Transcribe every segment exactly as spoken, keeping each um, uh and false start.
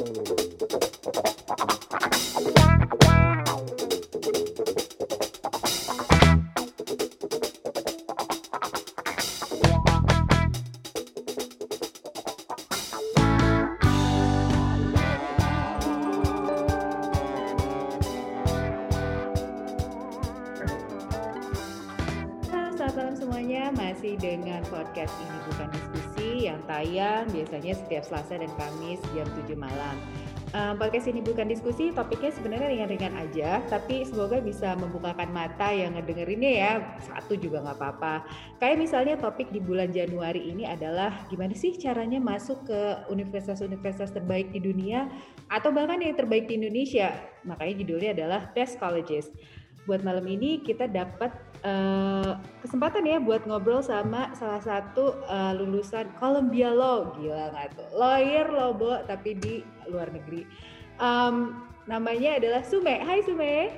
Masih dengan podcast Ini Bukan Diskusi yang tayang biasanya setiap Selasa dan Kamis jam tujuh malam. Uh, podcast Ini Bukan Diskusi topiknya sebenarnya ringan-ringan aja, tapi semoga bisa membukakan mata yang ngedengerinnya ya, satu juga nggak apa-apa. Kayak misalnya topik di bulan Januari ini adalah gimana sih caranya masuk ke universitas-universitas terbaik di dunia atau bahkan yang terbaik di Indonesia. Makanya judulnya adalah Best Colleges. Buat malam ini kita dapat uh, kesempatan ya buat ngobrol sama salah satu uh, lulusan Columbia Law. Gila nggak tuh? Lawyer loh, Bo, tapi di luar negeri. Um, namanya adalah Sume. Hai Sume.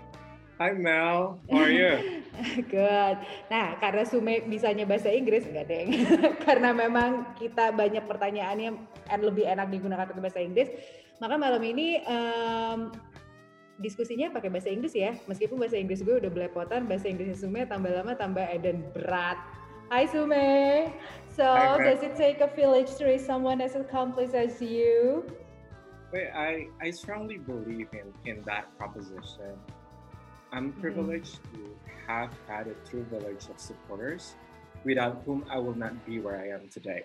Hi Mel, how are you? Good. Nah, karena Sume bisanya bahasa Inggris, enggak deng. Karena memang kita banyak pertanyaannya and lebih enak digunakan pakai bahasa Inggris, maka malam ini um, diskusinya pakai bahasa Inggris ya, meskipun bahasa Inggris gue udah belepotan, bahasa Inggris Sume tambah lama tambah eden berat. Hi Sume. So, Hi, does it take a village to raise someone as accomplished as you? Wait, I, I strongly believe in, in that proposition. I'm privileged mm-hmm. to have had a true village of supporters, without whom I will not be where I am today.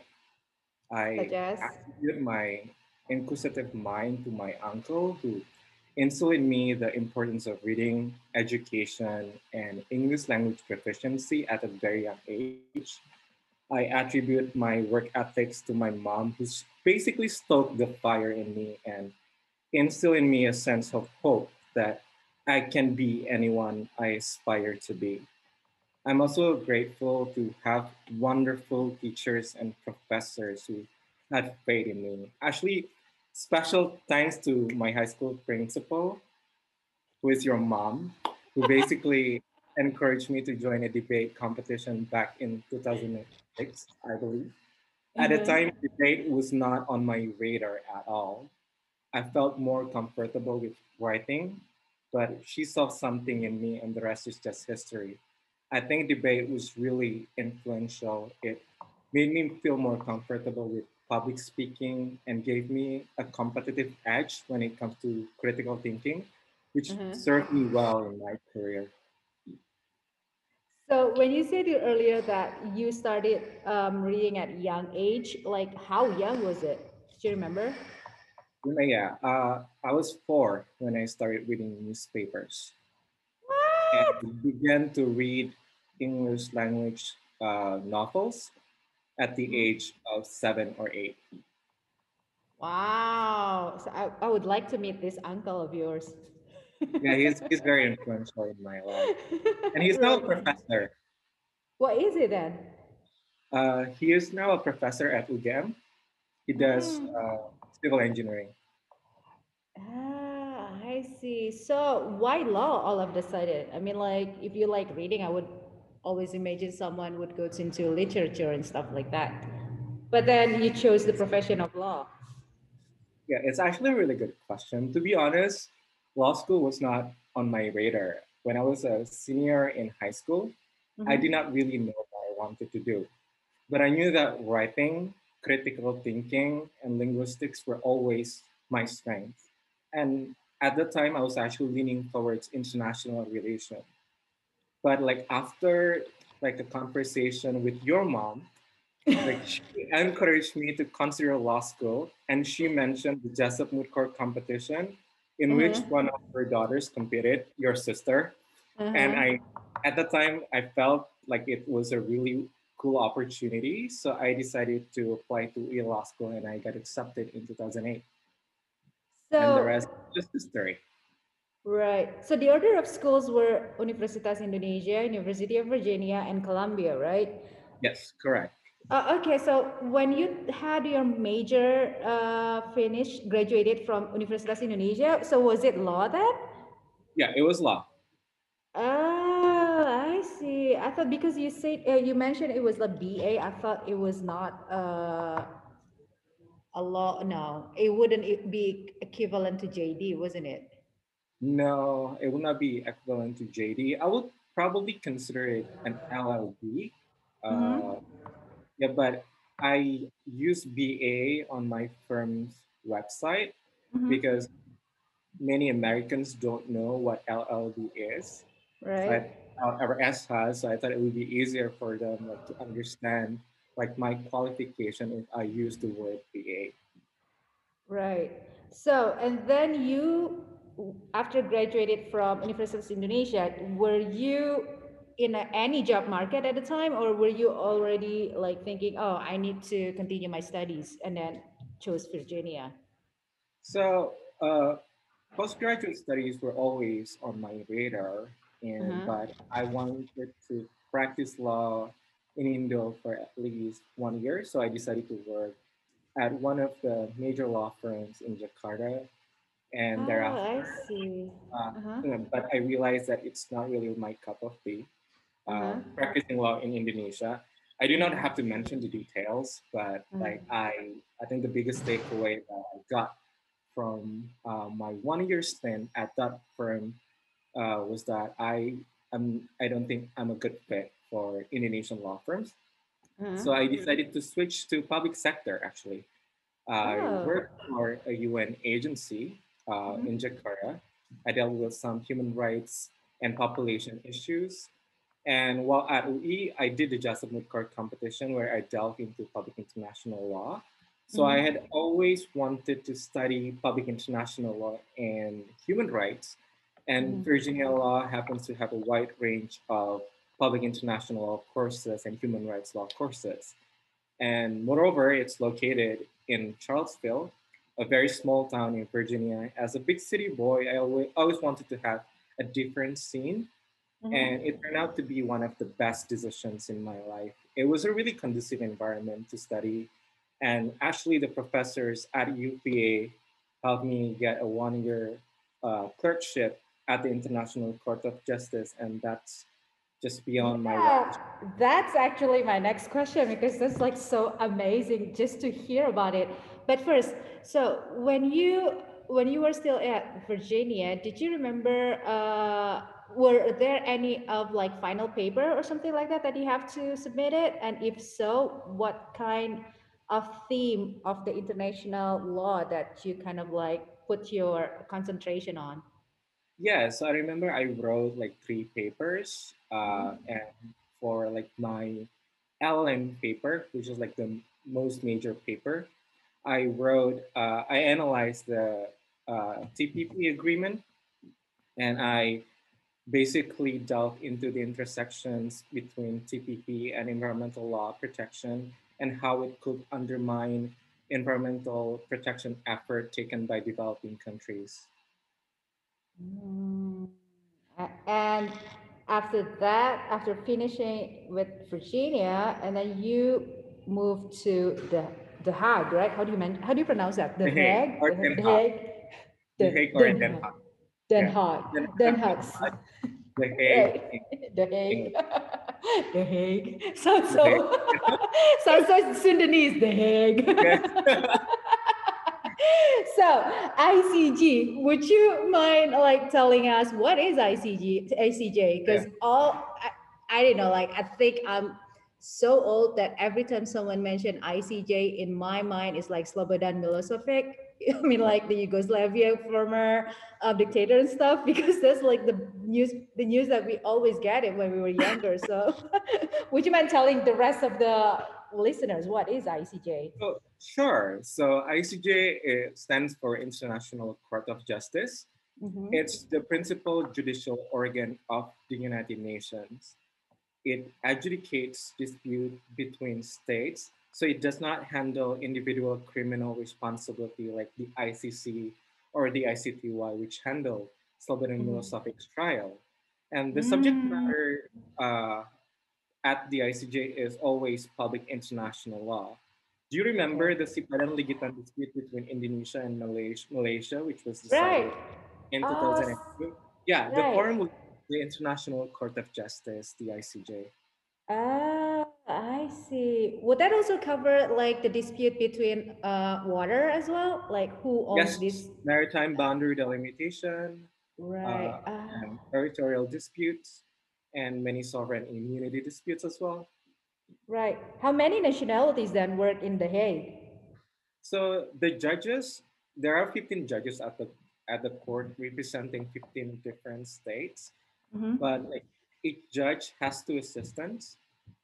I attribute my inquisitive mind to my uncle, who instilled in me the importance of reading, education, and English language proficiency at a very young age. I attribute my work ethics to my mom, who's basically stoked the fire in me and instilled in me a sense of hope that I can be anyone I aspire to be. I'm also grateful to have wonderful teachers and professors who had faith in me. Actually, special thanks to my high school principal, who is your mom, who basically encouraged me to join a debate competition back in two thousand six, I believe. Mm-hmm. At the time, debate was not on my radar at all. I felt more comfortable with writing, but she saw something in me, and the rest is just history. I think debate was really influential. It made me feel more comfortable with public speaking and gave me a competitive edge when it comes to critical thinking, which mm-hmm. served me well in my career. So when you said earlier that you started um, reading at a young age, like how young was it? Do you remember? Yeah, uh, I was four when I started reading newspapers. What? And began to read English language uh, novels at the age of seven or eight. Wow. So I, I would like to meet this uncle of yours. Yeah, he's he's very influential in my life. And he's now a professor. What is it then? Uh, he is now a professor at U G M. He does mm. uh, civil engineering. Ah, I see. So why law all of a sudden? I mean, like, if you like reading, I would always imagine someone would go into literature and stuff like that. But then you chose the profession of law. Yeah, it's actually a really good question. To be honest, law school was not on my radar. When I was a senior in high school, mm-hmm. I did not really know what I wanted to do. But I knew that writing, critical thinking, and linguistics were always my strength. And at the time, I was actually leaning towards international relations. But like after like a conversation with your mom, like she encouraged me to consider law school, and she mentioned the Jessup Moot Court competition in mm-hmm. which one of her daughters competed, your sister. Mm-hmm. And I, at the time, I felt like it was a really cool opportunity. So I decided to apply to Yale Law School, and I got accepted in two thousand eight. So, and the rest is just history. Right. So the order of schools were Universitas Indonesia, University of Virginia, and Columbia, right? Yes, correct. Uh, okay, so when you had your major uh, finished, graduated from Universitas Indonesia, so was it law then? Yeah, it was law. Oh, I see. I thought because you said uh, you mentioned it was a B A, I thought it was not. Uh, a law. No, it wouldn't e- be equivalent to J D, wasn't it? No, it would not be equivalent to J D. I would probably consider it an L L B. Uh, Mm-hmm. yeah, but I use B A on my firm's website Mm-hmm. because many Americans don't know what L L B is. So I, Right. uh, or S has, so I thought it would be easier for them like to understand like my qualification if I use the word B A. Right. So, and then you, after graduated from University of Indonesia, were you in a, any job market at the time, or were you already like thinking, oh, I need to continue my studies, and then chose Virginia? So uh, postgraduate studies were always on my radar, and Uh-huh. but I wanted to practice law in Indo for at least one year, so I decided to work at one of the major law firms in Jakarta, and Oh, I thereafter, see. uh, Uh-huh. you know, but I realized that it's not really my cup of tea. Uh, Uh-huh. practicing law in Indonesia. I do not Uh-huh. have to mention the details, but like Uh-huh. I, I think the biggest takeaway that I got from uh, my one year stint at that firm uh, was that I am I don't think I'm a good fit for Indonesian law firms. Uh-huh. So I decided to switch to public sector. Actually, I Oh. worked for a U N agency uh, Mhm. in Jakarta. I dealt with some human rights and population issues. And while at U I, I did the Jasa Moot Court competition where I delved into public international law. So I Mhm. had always wanted to study public international law and human rights. And Mhm. Virginia law happens to have a wide range of public international law courses and human rights law courses. And moreover, it's located in Charlottesville, a very small town in Virginia. As a big city boy, I always, always wanted to have a different scene, Mhm. and it turned out to be one of the best decisions in my life. It was a really conducive environment to study, and actually, the professors at U P A helped me get a one-year uh, clerkship at the International Court of Justice, and that's just beyond my Yeah, wildest. that's actually my next question because that's like so amazing just to hear about it. But first, so when you when you were still at Virginia, did you remember uh were there any of like final paper or something like that that you have to submit it? And if so, what kind of theme of the international law that you kind of like put your concentration on? Yeah, so I remember I wrote like three papers, uh, Mhm. and for like my L L M paper, which is like the most major paper, I wrote, uh, I analyzed the uh, T P P agreement, and I basically delved into the intersections between T P P and environmental law protection and how it could undermine environmental protection effort taken by developing countries. Mm. A- And after that, after finishing with Virginia, and then you moved to the the Hague, right? How do you men- how do you pronounce that? The The Hague Hague, or the, Den the Haag, Hague, The the Hague or Den Den Haag, Haag. Den Yeah, Haag, Den Den Haag, Haag, The Hague right? in The Hague, England. the Hague. Sounds The Hague. so sounds so Sudanese. The Hague. Yeah. So I C G, would you mind like telling us what is I C G, I C J? Yeah. Because all I, I don't know, like I think I'm so old that every time someone mentioned I C J in my mind is like Slobodan Milosevic. I mean, Yeah. like the Yugoslavia former uh, dictator and stuff, because that's like the news, the news that we always get it when we were younger. So, would you mind telling the rest of the listeners what is I C J? So, sure. So I C J uh, stands for International Court of Justice. Mm-hmm. It's the principal judicial organ of the United Nations. It adjudicates dispute between states, so it does not handle individual criminal responsibility like the I C C or the I C T Y, which handle Slobodan Milosevic's trial. And the subject Mm. matter uh, at the I C J is always public international law. Do you remember Okay. the Sipadan Ligitan dispute between Indonesia and Malaysia, Malaysia which was Right. decided in Oh, s- two thousand two? Yeah, the right. forum was the International Court of Justice, the I C J. Ah. I see. Would that also cover like the dispute between uh water as well? Like who owns Yes, this? maritime boundary delimitation, Right. uh, and Ah, territorial disputes, and many sovereign immunity disputes as well. right. How many nationalities then work in The Hague? So the judges, there are fifteen judges at the at the court representing fifteen different states, but Mm-hmm. like each judge has two assistants,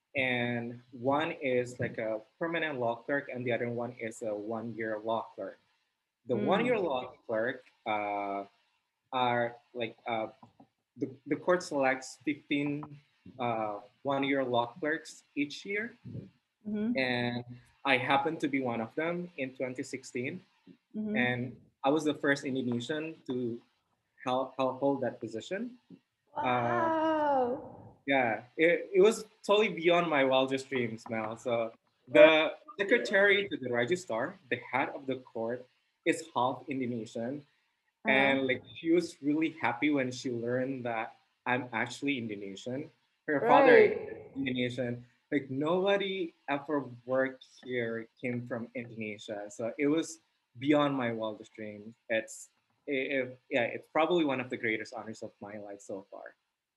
and one is like a permanent law clerk, and the other one is a one-year law clerk. The one-year Mm. law clerk uh, are like uh, the, the court selects fifteen uh, one-year law clerks each year, Mm-hmm. and I happened to be one of them in twenty sixteen, and Mm-hmm. I was the first Indonesian to help, help hold that position. Uh, Wow. yeah, it, it was totally beyond my wildest dreams, Mel. So the secretary to the registrar, the head of the court, is half Indonesian, Uh-huh. and like she was really happy when she learned that I'm actually Indonesian. Her father is Right. Indonesian. Like nobody ever worked here came from Indonesia, so it was beyond my wildest dreams. It's it, yeah, it's probably one of the greatest honors of my life so far.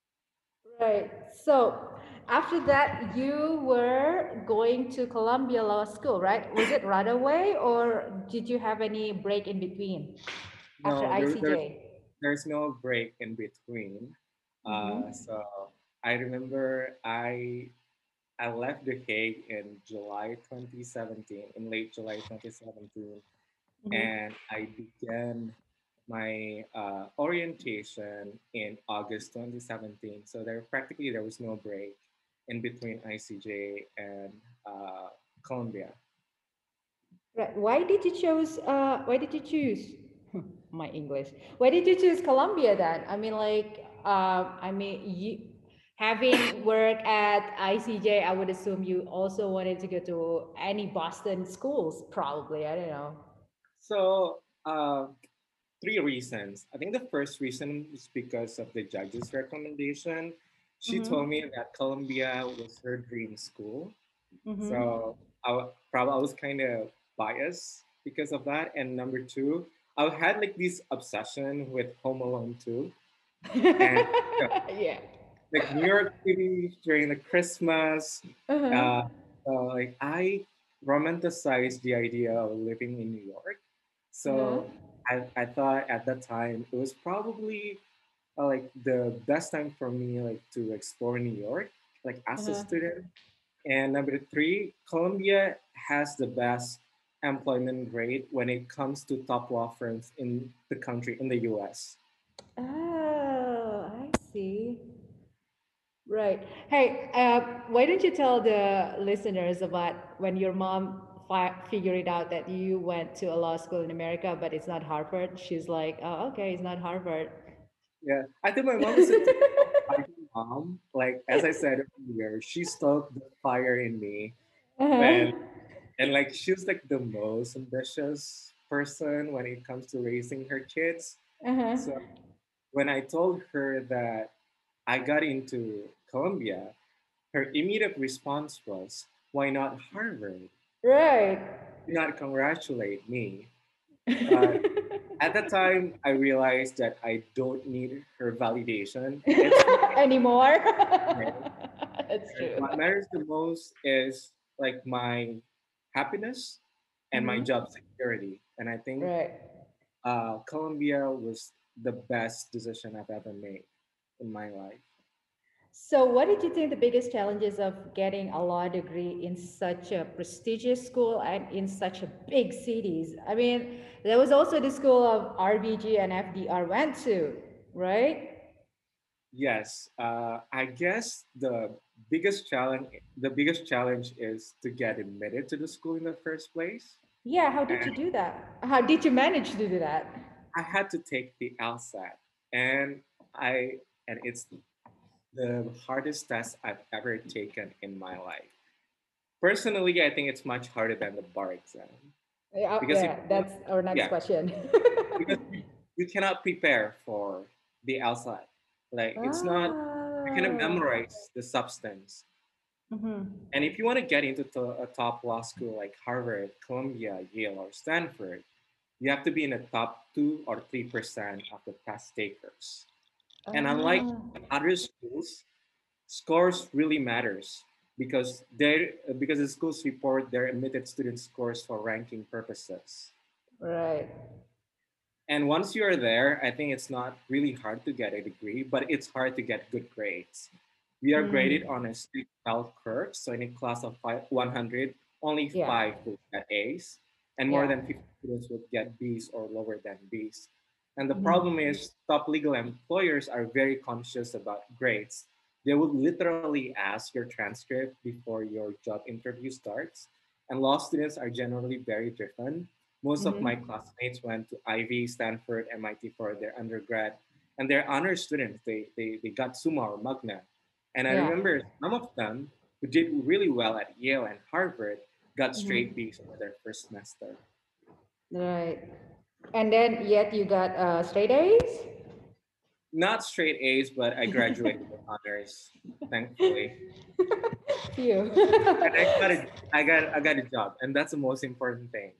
Right. So after that, you were going to Columbia Law School, right? Was it right away, or did you have any break in between after No, there, there I C J? there's no break in between. Uh, Mm-hmm. so I remember I I left The Hague in July twenty seventeen, in late July twenty seventeen, Mm-hmm. and I began my uh, orientation in August twenty seventeen. So there practically there was no break in between I C J and uh, Columbia. Right. Why did you choose? Uh, why did you choose? My English. Why did you choose Columbia then? I mean, like, uh, I mean, you having worked at I C J, I would assume you also wanted to go to any Boston schools, probably. I don't know. So uh, three reasons. I think the first reason is because of the judge's recommendation. She told Mm-hmm. me that Columbia was her dream school. Mm-hmm. So I wa- probably I was kind of biased because of that. And number two, I had like this obsession with Home Alone two, and you know, Yeah. like New York City during the Christmas. Uh-huh. Uh, uh, like I romanticized the idea of living in New York. Uh-huh. So I, I thought at that time it was probably uh, like the best time for me like to explore New York, like as a Uh-huh. student. And number three, Colombia has the best employment rate when it comes to top law firms in the country, in the U S. Oh, I see. Right. Hey, uh, why don't you tell the listeners about when your mom fi- figured it out that you went to a law school in America, but it's not Harvard? She's like, oh, okay, it's not Harvard. Yeah, I think my mom is a typical fighting mom. Like as I said earlier, she stoked the fire in me, Uh-huh. and and like she was like the most ambitious person when it comes to raising her kids. Uh-huh. So when I told her that I got into Columbia, her immediate response was, "Why not Harvard? Right. Do not congratulate me." But at that time, I realized that I don't need her validation. It's Anymore. fine. That's true. What matters the most is like my happiness and my Mm-hmm. job security. And I think Right. uh, Columbia was the best decision I've ever made in my life. So, what did you think the biggest challenges of getting a law degree in such a prestigious school and in such a big cities? I mean, there was also the school of R B G and F D R went to, right? Yes, uh, I guess the biggest challenge the biggest challenge is to get admitted to the school in the first place. Yeah, how did And you do that? How did you manage to do that? I had to take the LSAT, and I and it's the hardest test I've ever taken in my life. Personally, I think it's much harder than the bar exam Yeah, because if yeah, that's our next yeah, question. because you, you cannot prepare for the LSAT. Like it's not you cannot Ah, memorize the substance. Mm-hmm. And if you want to get into to- a top law school like Harvard, Columbia, Yale, or Stanford, you have to be in the top two or three percent of the test takers. And unlike Ah, other schools, scores really matters because they because the schools report their admitted student scores for ranking purposes. right. And once you're there, I think it's not really hard to get a degree, but it's hard to get good grades. We are graded Mm. on a strict bell curve, so in a class of five, one hundred, only Yeah. five will get A's, and more Yeah. than fifty students will get B's or lower than B's. And the problem Mm-hmm. is, top legal employers are very conscious about grades. They would literally ask your transcript before your job interview starts. And law students are generally very driven. Most of my Mm-hmm. classmates went to Ivy, Stanford, M I T for their undergrad, and they're honor students. They, they, they got Summa or Magna. And I Yeah. remember some of them who did really well at Yale and Harvard got straight Mm-hmm. B's for their first semester. Right. And then yet you got uh, straight A's? Not straight A's, but I graduated with honors, thankfully. Phew. And I got a, I got, I got a job, and that's the most important thing.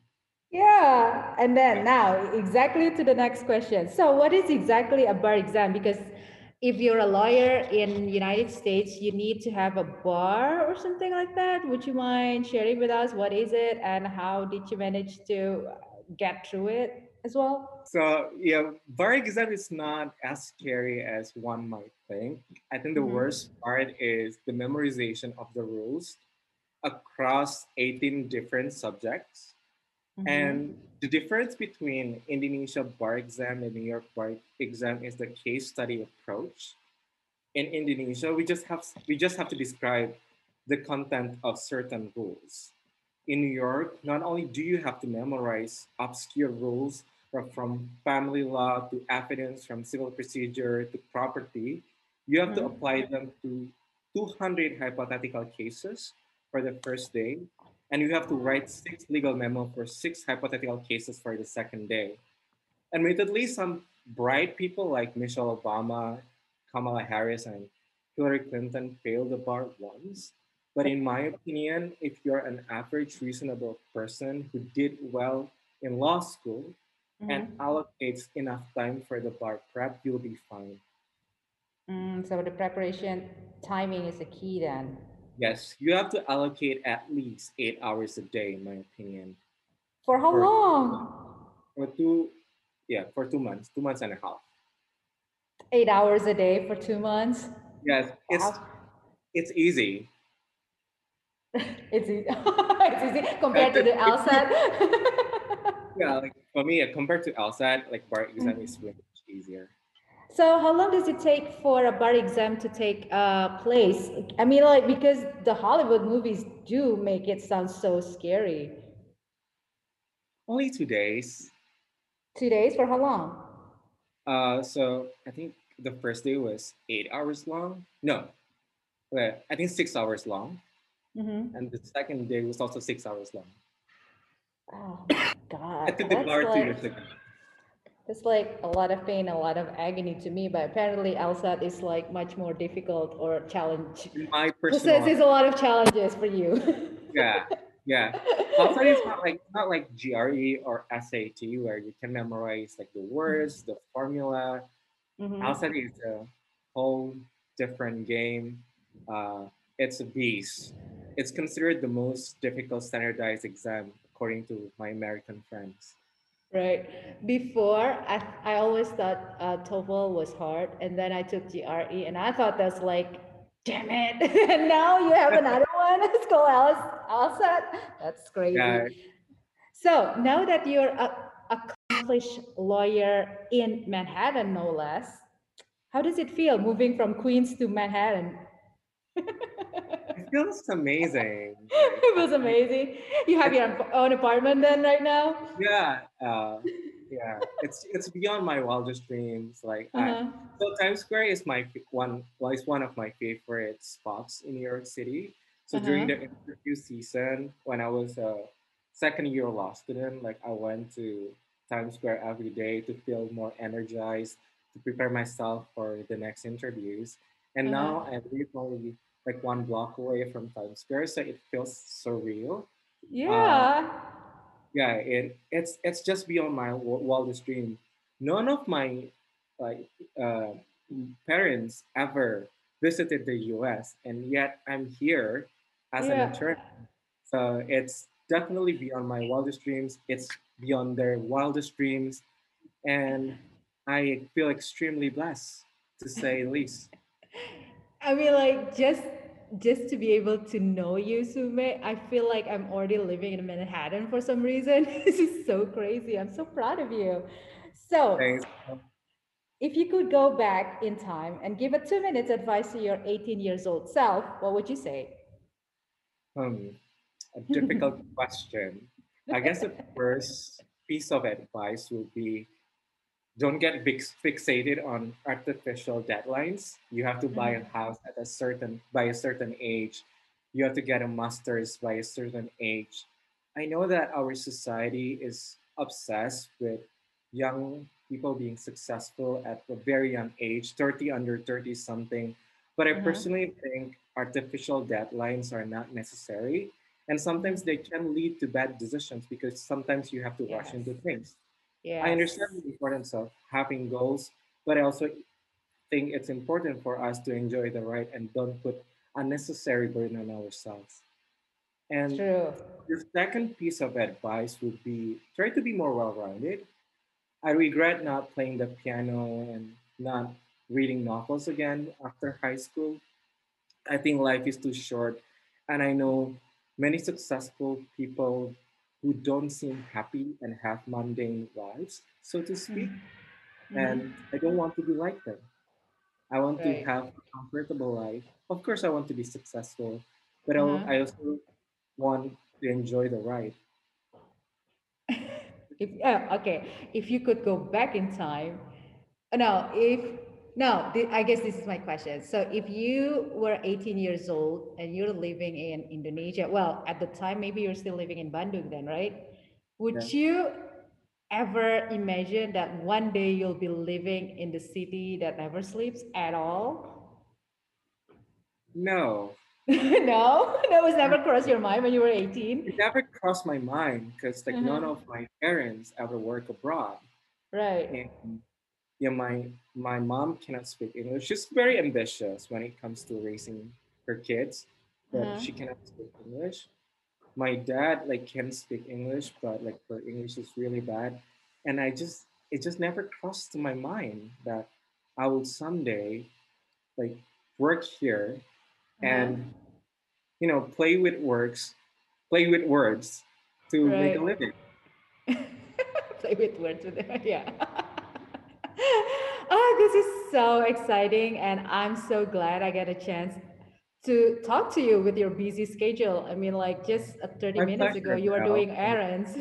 Yeah. And then Yeah. now exactly to the next question. So what is exactly a bar exam? Because if you're a lawyer in United States, you need to have a bar or something like that. Would you mind sharing with us what is it and how did you manage to get through it as well? So yeah, bar exam is not as scary as one might think. I think the Mm-hmm. worst part is the memorization of the rules across eighteen different subjects. And Mm-hmm. the difference between Indonesia bar exam and New York bar exam is the case study approach. In Indonesia, we just have we just have to describe the content of certain rules. In New York, not only do you have to memorize obscure rules from, from family law to evidence, from civil procedure to property, you have to Mm-hmm. apply them to two hundred hypothetical cases for the first day, and you have to write six legal memo for six hypothetical cases for the second day. Admittedly, some bright people like Michelle Obama, Kamala Harris, and Hillary Clinton failed the bar once. But in my opinion, if you're an average, reasonable person who did well in law school and Mm-hmm. allocates enough time for the bar prep, you'll be fine. Mm, so the preparation timing is the key then. Yes, you have to allocate at least eight hours a day, in my opinion, For how for long? for two, yeah, for two months, two months and a half. Eight hours a day for two months. Yes, it's Wow. it's easy. It's easy. It's easy compared to the LSAT. Yeah, like for me, uh, compared to LSAT, like bar exam is Mm. way much easier. So how long does it take for a bar exam to take uh, place? I mean, like because the Hollywood movies do make it sound so scary. Only two days. Two days for how long? Uh, so I think the first day was eight hours long. No, wait, I think six hours long, and Mm-hmm. the second day was also six hours long. Oh my I God, took the that's bar two like years ago. it's like a lot of pain, a lot of agony to me. But apparently, LSAT is like much more difficult or challenge. In my personal, Possesses a lot of challenges for you. yeah, yeah. LSAT is not like not like G R E or S A T where you can memorize like the words, the formula. Mm-hmm. LSAT is a whole different game. Uh, it's a beast. It's considered the most difficult standardized exam according to my American friends. Right. Before, I, I always thought uh, TOEFL was hard, and then I took G R E, and I thought that's like, damn it. And now you have another one. It's called LSAT. That's Yeah, crazy. So now that you're a accomplished lawyer in Manhattan, no less, how does it feel moving from Queens to Manhattan? it feels amazing. Like, It I, was I, amazing. You have it's your own apartment then right now? yeah, uh, yeah. It's it's beyond my wildest dreams. Like, I Uh-huh. so Times Square is my f- one. Well, it's one of my favorite spots in New York City. So during Uh-huh. the interview season, when I was a second year law student, like I went to Times Square every day to feel more energized, to prepare myself for the next interviews. And Uh-huh. now I'm really like one block away from Times Square, so it feels surreal. Uh, Yeah. yeah, it it's it's just beyond my w- wildest dream. None of my like uh, parents ever visited the U S, and yet I'm here as an Yeah. intern. So it's definitely beyond my wildest dreams. It's beyond their wildest dreams, and I feel extremely blessed, to say the least. I mean, like just just to be able to know you, Sume, I feel like I'm already living in Manhattan for some reason. This is so crazy. I'm so proud of you. So, Thanks. if you could go back in time and give a two minutes advice to your eighteen years old self, what would you say? Um, a difficult question. I guess the first piece of advice would be don't get fix- fixated on artificial deadlines. You have to buy a Mhm. house at a certain by a certain age. You have to get a master's by a certain age. I know that our society is obsessed with young people being successful at a very young age, thirty under thirty something. But I Uh-huh. personally think artificial deadlines are not necessary. And sometimes they Mhm. can lead to bad decisions because sometimes you have to rush Yes. into things. I understand Yes. the importance of having goals, but I also think it's important for us to enjoy the ride and don't put unnecessary burden on ourselves. And True. the second piece of advice would be try to be more well rounded. I regret not playing the piano and not reading novels again after high school. I think life is too short, and I know many successful people who don't seem happy and have mundane lives, so to speak. Mm-hmm. And I don't want to be like them. I want to Right. have a comfortable life. Of course, I want to be successful, but I Uh-huh. I also want to enjoy the ride. If yeah, okay, if you could go back in time, uh, no, if no, th- I guess this is my question. So if you were eighteen years old and you're living in Indonesia, well, at the time maybe you're still living in Bandung then, right? Would Yeah. you ever imagine that one day you'll be living in the city that never sleeps at all? No, No, that was no, never crossed no. your mind when you were It eighteen. never crossed my mind because like none Uh-huh. of my parents ever work abroad, Right. and yeah, my my mom cannot speak English. She's very ambitious when it comes to raising her kids, but Uh-huh. she cannot speak English. My dad like can speak English, but like her English is really bad, and I just it just never crossed to my mind that I would someday like work here Uh-huh. and you know play with words, play with words to make a Right. living. Play with words with it. Yeah. Oh, this is so exciting. And I'm so glad I get a chance to talk to you with your busy schedule. I mean, like just uh, thirty My minutes ago, pleasure, you were Mel. doing errands.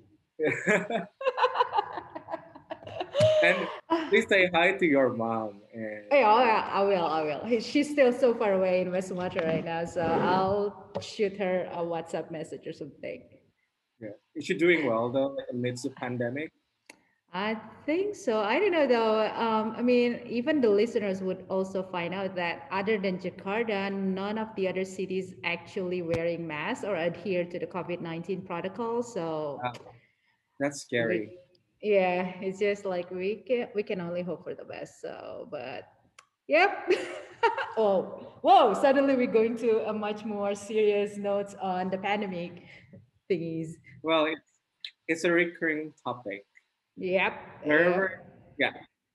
And please say hi to your mom. And Yeah, oh, yeah, I will. I will. He- She's still so far away in West Sumatra right now, so I'll shoot her a WhatsApp message or something. yeah, is she doing well though amidst the pandemic? I think so. I don't know though. Um, I mean, even the listeners would also find out that other than Jakarta, none of the other cities actually wearing masks or adhere to the COVID nineteen protocol. So Wow, that's we, scary. yeah, it's just like we can we can only hope for the best. So, but yep. Oh, whoa! Suddenly we're going to a much more serious notes on the pandemic thingies. Well, it's it's a recurring topic. Yep. Wherever, Yep. yeah,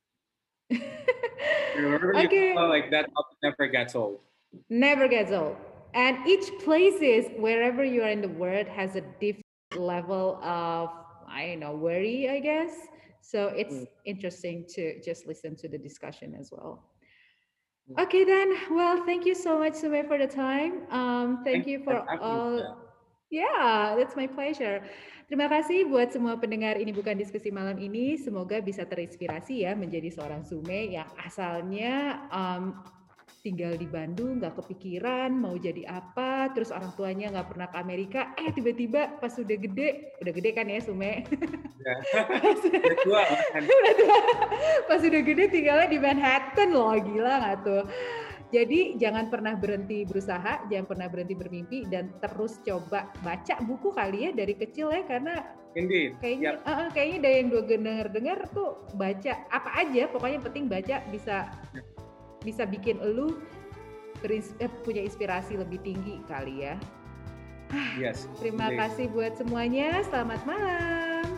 wherever you go, Okay. like that topic never gets old. Never gets old. And each places, wherever you are in the world, has a different level of, I don't know, worry, I guess. So it's Mm, interesting to just listen to the discussion as well. mm. Okay, then. Well, thank you so much, Sumay, for the time. Um, thank Thank you you for for having me. all. Mel. Yeah, that's my pleasure. Terima kasih buat semua pendengar ini bukan diskusi malam ini. Semoga bisa terinspirasi ya menjadi seorang Sume yang asalnya um, tinggal di Bandung, nggak kepikiran mau jadi apa, terus orang tuanya nggak pernah ke Amerika, eh tiba-tiba pas udah gede, udah gede kan ya Sume? Ya, pas, udah tua kan. udah tua, pas udah gede tinggalnya di Manhattan loh, gila nggak tuh? Jadi jangan pernah berhenti berusaha, jangan pernah berhenti bermimpi, dan terus coba baca buku kali ya dari kecil ya, karena Indeed. kayaknya Yep. uh, kayaknya dari yang gue dengar-dengar tuh baca apa aja, pokoknya penting baca bisa bisa bikin elu berins- eh, punya inspirasi lebih tinggi kali ya. Yes. Terima indeed. kasih buat semuanya, selamat malam.